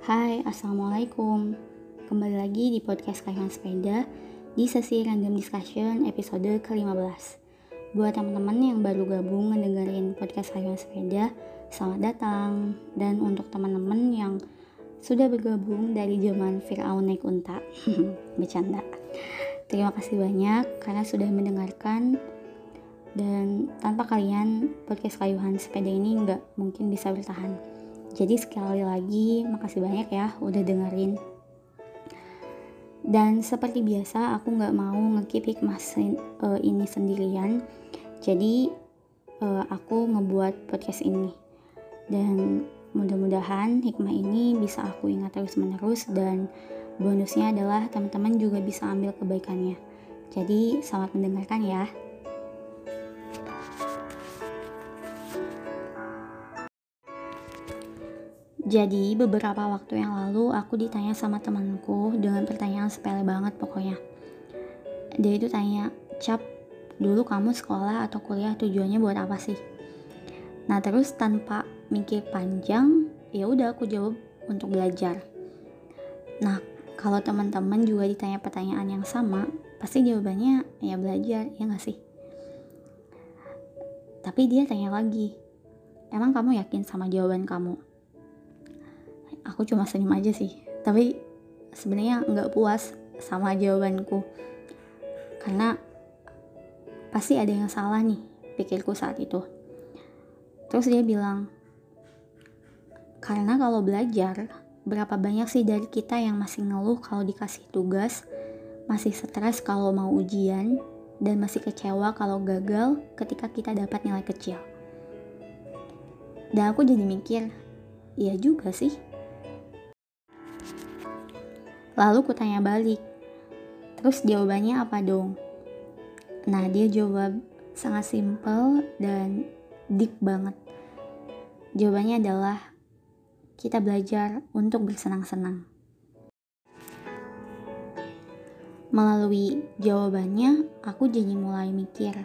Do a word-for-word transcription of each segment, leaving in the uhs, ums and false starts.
Hai, Assalamualaikum. Kembali lagi di podcast Kayuhan Sepeda di sesi Random Discussion episode ke lima belas. Buat teman-teman yang baru gabung ngedengerin podcast Kayuhan Sepeda, selamat datang. Dan untuk teman-teman yang sudah bergabung dari zaman Fir'aun naik unta, bercanda. Terima kasih banyak karena sudah mendengarkan. Dan tanpa kalian, podcast Kayuhan Sepeda ini nggak mungkin bisa bertahan. Jadi sekali lagi makasih banyak ya udah dengerin. Dan seperti biasa aku gak mau nge-keep hikmah uh, ini sendirian. Jadi uh, aku ngebuat podcast ini. Dan mudah-mudahan hikmah ini bisa aku ingat terus menerus. Dan bonusnya adalah teman-teman juga bisa ambil kebaikannya. Jadi selamat mendengarkan ya. Jadi beberapa waktu yang lalu aku ditanya sama temanku dengan pertanyaan sepele banget pokoknya. Dia itu tanya, "Cap, dulu kamu sekolah atau kuliah tujuannya buat apa sih?" Nah terus tanpa mikir panjang, ya udah aku jawab untuk belajar. Nah kalau teman-teman juga ditanya pertanyaan yang sama, pasti jawabannya ya belajar, ya nggak sih? Tapi dia tanya lagi, "Emang kamu yakin sama jawaban kamu?" Aku cuma senyum aja sih, tapi sebenarnya nggak puas sama jawabanku karena pasti ada yang salah nih pikirku saat itu. Terus dia bilang, karena kalau belajar, berapa banyak sih dari kita yang masih ngeluh kalau dikasih tugas, masih stres kalau mau ujian, dan masih kecewa kalau gagal ketika kita dapat nilai kecil. Dan aku jadi mikir, iya juga sih. Lalu ku tanya balik, terus jawabannya apa dong? Nah dia jawab sangat simpel dan deep banget. Jawabannya adalah, kita belajar untuk bersenang-senang. Melalui jawabannya, aku jadi mulai mikir,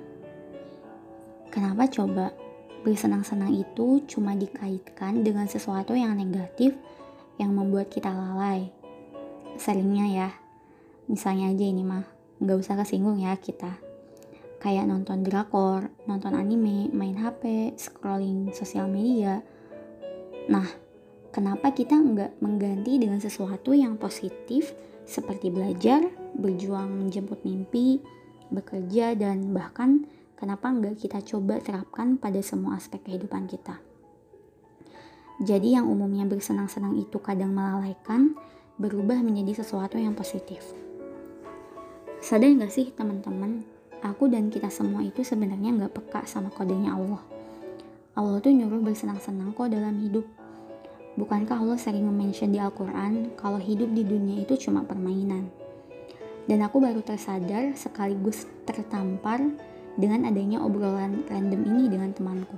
kenapa coba bersenang-senang itu cuma dikaitkan dengan sesuatu yang negatif yang membuat kita lalai? Seringnya ya, misalnya aja ini mah, gak usah kesinggung ya kita. Kayak nonton drakor, nonton anime, main H P, scrolling sosial media. Nah, kenapa kita gak mengganti dengan sesuatu yang positif seperti belajar, berjuang menjemput mimpi, bekerja, dan bahkan kenapa gak kita coba terapkan pada semua aspek kehidupan kita. Jadi yang umumnya bersenang-senang itu kadang melalaikan, berubah menjadi sesuatu yang positif. Sadar gak sih teman-teman, aku dan kita semua itu sebenarnya gak peka sama kodenya Allah. Allah tuh nyuruh bersenang-senang kok dalam hidup. Bukankah Allah sering mention di Al-Quran kalau hidup di dunia itu cuma permainan? Dan aku baru tersadar sekaligus tertampar dengan adanya obrolan random ini dengan temanku.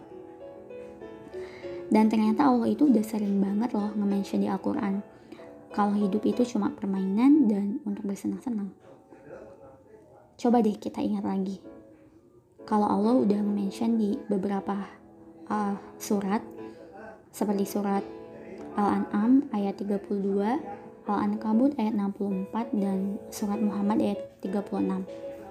Dan ternyata Allah itu udah sering banget loh nge-mention di Al-Quran kalau hidup itu cuma permainan dan untuk bersenang-senang. Coba deh kita ingat lagi. Kalau Allah udah mention di beberapa uh, surat, seperti surat Al-An'am ayat tiga puluh dua, Al-Ankabut ayat enam puluh empat, dan surat Muhammad ayat tiga puluh enam.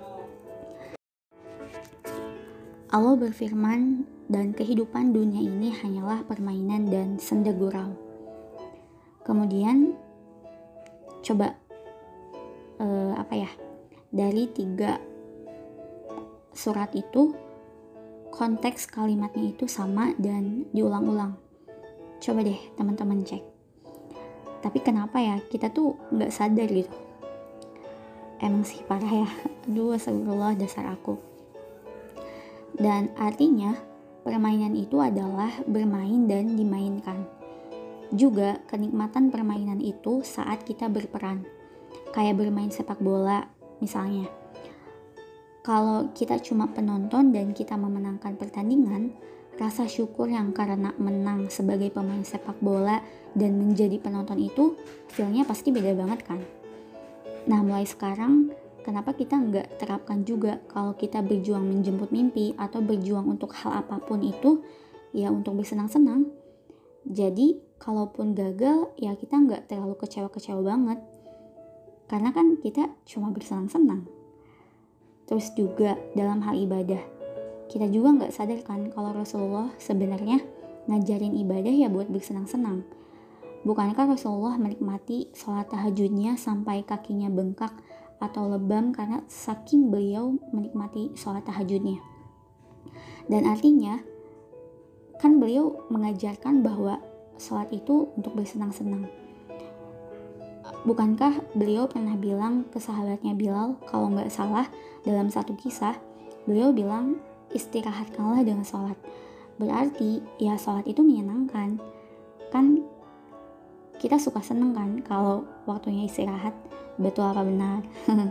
Allah berfirman, dan kehidupan dunia ini hanyalah permainan dan senda gurau. Kemudian coba uh, apa ya dari tiga surat itu konteks kalimatnya itu sama dan diulang-ulang. Coba deh teman-teman cek. Tapi kenapa ya kita tuh nggak sadar gitu? Emang sih parah ya. Aduh, astagfirullah dasar aku. Dan artinya permainan itu adalah bermain dan dimainkan. Juga kenikmatan permainan itu saat kita berperan, kayak bermain sepak bola misalnya. Kalau kita cuma penonton dan kita memenangkan pertandingan, rasa syukur yang karena menang sebagai pemain sepak bola dan menjadi penonton itu feel-nya pasti beda banget kan. Nah mulai sekarang kenapa kita nggak terapkan juga kalau kita berjuang menjemput mimpi atau berjuang untuk hal apapun itu ya untuk bersenang-senang. Jadi kalaupun gagal ya kita nggak terlalu kecewa-kecewa banget, karena kan kita cuma bersenang-senang. Terus juga dalam hal ibadah, kita juga nggak sadar kan kalau Rasulullah sebenarnya ngajarin ibadah ya buat bersenang-senang. Bukankah Rasulullah menikmati sholat tahajudnya sampai kakinya bengkak atau lebam karena saking beliau menikmati sholat tahajudnya. Dan artinya kan beliau mengajarkan bahwa sholat itu untuk bersenang-senang. Bukankah beliau pernah bilang ke sahabatnya Bilal, kalau nggak salah dalam satu kisah, beliau bilang istirahatkanlah dengan sholat. Berarti ya sholat itu menyenangkan. Kan kita suka seneng kan kalau waktunya istirahat. Betul apa benar?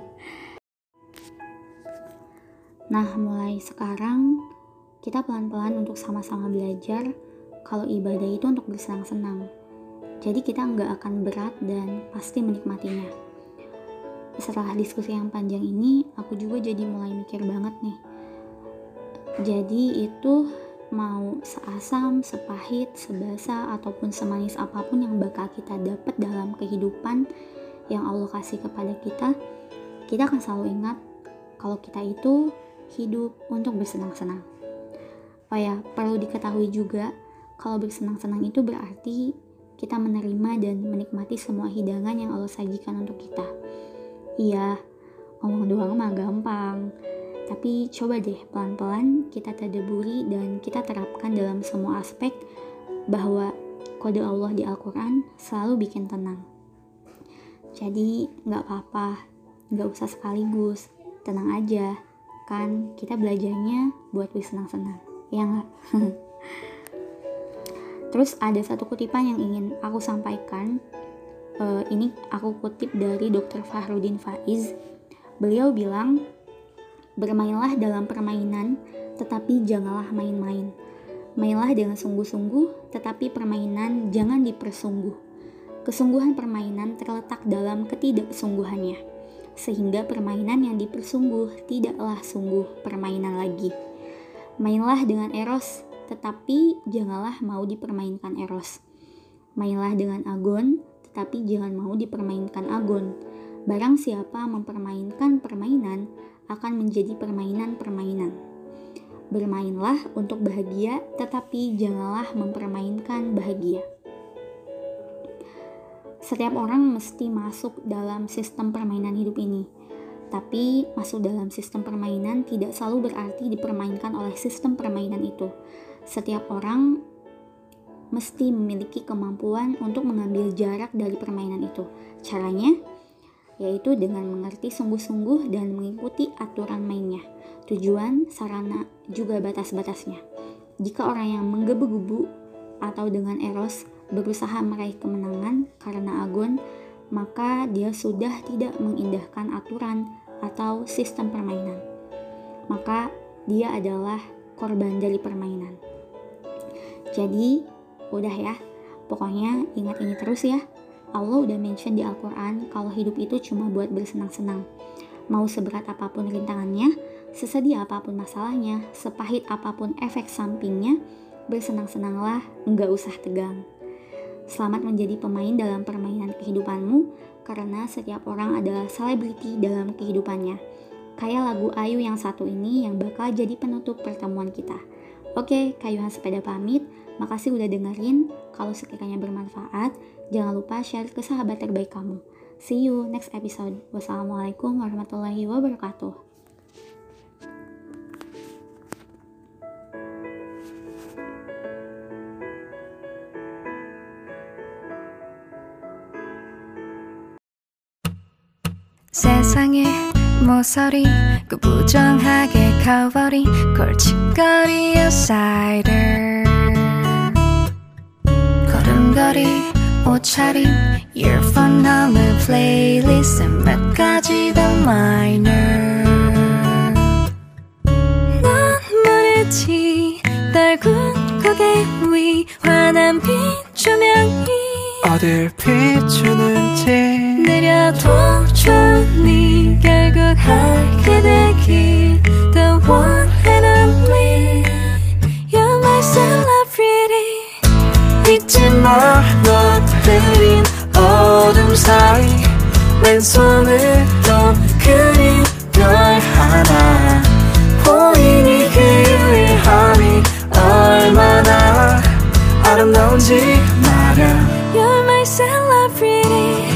Nah, mulai sekarang kita pelan-pelan untuk sama-sama belajar kalau ibadah itu untuk bersenang-senang. Jadi kita nggak akan berat dan pasti menikmatinya. Setelah diskusi yang panjang ini, aku juga jadi mulai mikir banget nih. Jadi itu mau seasam, sepahit, sebasa, ataupun semanis apapun yang bakal kita dapat dalam kehidupan yang Allah kasih kepada kita, kita akan selalu ingat kalau kita itu hidup untuk bersenang-senang. Oh ya, perlu diketahui juga kalau bersenang-senang itu berarti kita menerima dan menikmati semua hidangan yang Allah sajikan untuk kita. Iya, ngomong doang mah gampang. Tapi coba deh pelan-pelan kita tadabburi dan kita terapkan dalam semua aspek bahwa kode Allah di Al-Quran selalu bikin tenang. Jadi gak apa-apa, gak usah sekaligus, tenang aja. Kan kita belajarnya buat bersenang-senang, ya gak? Terus ada satu kutipan yang ingin aku sampaikan. uh, Ini aku kutip dari dokter Fahrudin Faiz. Beliau bilang, bermainlah dalam permainan, tetapi janganlah main-main. Mainlah dengan sungguh-sungguh, tetapi permainan jangan dipersungguh. Kesungguhan permainan terletak dalam ketidaksungguhannya, sehingga permainan yang dipersungguh tidaklah sungguh permainan lagi. Mainlah dengan eros, tetapi janganlah mau dipermainkan eros. Mainlah dengan agon, tetapi jangan mau dipermainkan agon. Barang siapa mempermainkan permainan, akan menjadi permainan-permainan. Bermainlah untuk bahagia, tetapi janganlah mempermainkan bahagia. Setiap orang mesti masuk dalam sistem permainan hidup ini. Tapi masuk dalam sistem permainan tidak selalu berarti dipermainkan oleh sistem permainan itu. Setiap orang mesti memiliki kemampuan untuk mengambil jarak dari permainan itu. Caranya yaitu dengan mengerti sungguh-sungguh dan mengikuti aturan mainnya, tujuan, sarana, juga batas-batasnya. Jika orang yang menggebu-gebu atau dengan eros berusaha meraih kemenangan karena agon, maka dia sudah tidak mengindahkan aturan atau sistem permainan. Maka dia adalah korban dari permainan. Jadi, udah ya, pokoknya ingat ini terus ya. Allah udah mention di Al-Quran kalau hidup itu cuma buat bersenang-senang. Mau seberat apapun rintangannya, sesedih apapun masalahnya, sepahit apapun efek sampingnya, bersenang-senanglah, nggak usah tegang. Selamat menjadi pemain dalam permainan kehidupanmu, karena setiap orang adalah selebriti dalam kehidupannya. Kayak lagu Ayu yang satu ini yang bakal jadi penutup pertemuan kita. Oke, Kayuhan Sepeda pamit. Makasih udah dengerin. Kalau sekiranya bermanfaat, jangan lupa share ke sahabat terbaik kamu. See you next episode. Wassalamualaikum warahmatullahi wabarakatuh. 세상의 모서리 그 부정하게 커버린 골칫거리의 사이드 걸음걸이 옷차림 earphone 하는 플레이리스트 몇 가지 더 마이너 넌 말했지 달군 고개 위 환한 빛 조명이 어딜 비추는지 내려도 좋니 결국 알게 되길 The one and only You're my celebrity 잊지 마 마 너 그린 어둠 사이 왼손으로 그린 별 하나 보이니 그 유일함이 얼마나 아름다운지 말야 You're my celebrity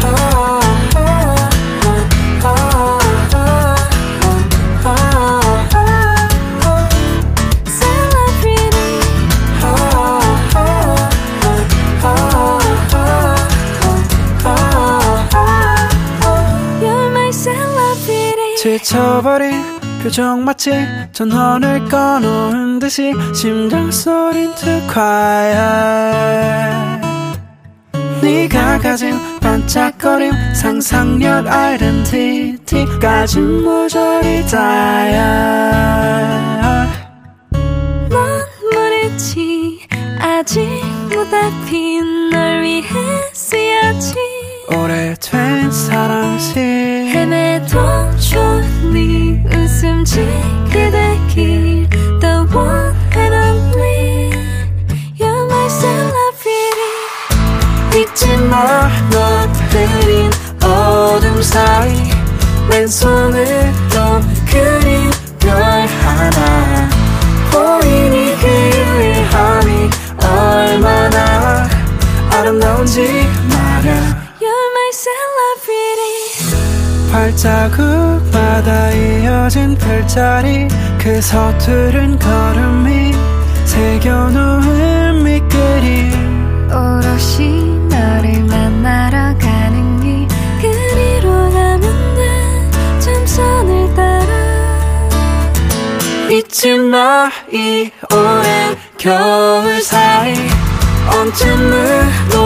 지쳐버린 표정 마치 전원을 꺼놓은 듯이 심장소린 too quiet 네가 가진 반짝거림 상상력 아이덴티티까지 모조리 다야 넌 모르지 아직 무대 핀 널 위해 쓰여진 오래된 사랑시 헤매도 좋은 네 웃음 지그대 길 The one and only You're my celebrity 잊지 마 너 그린 어둠 사이 왼손으로 그린 별 하나 보이니 그 유일함이 얼마나 아름다운지 말야 You're my celebrity 발자국마다 이어진 별자리 그 서투른 걸음이 새겨놓은 밑그림 오롯이 너를 만나러 가는 길 그리로 가면 돼 점선을 따라 잊지 마 이 오랜 겨울 사이 언제물로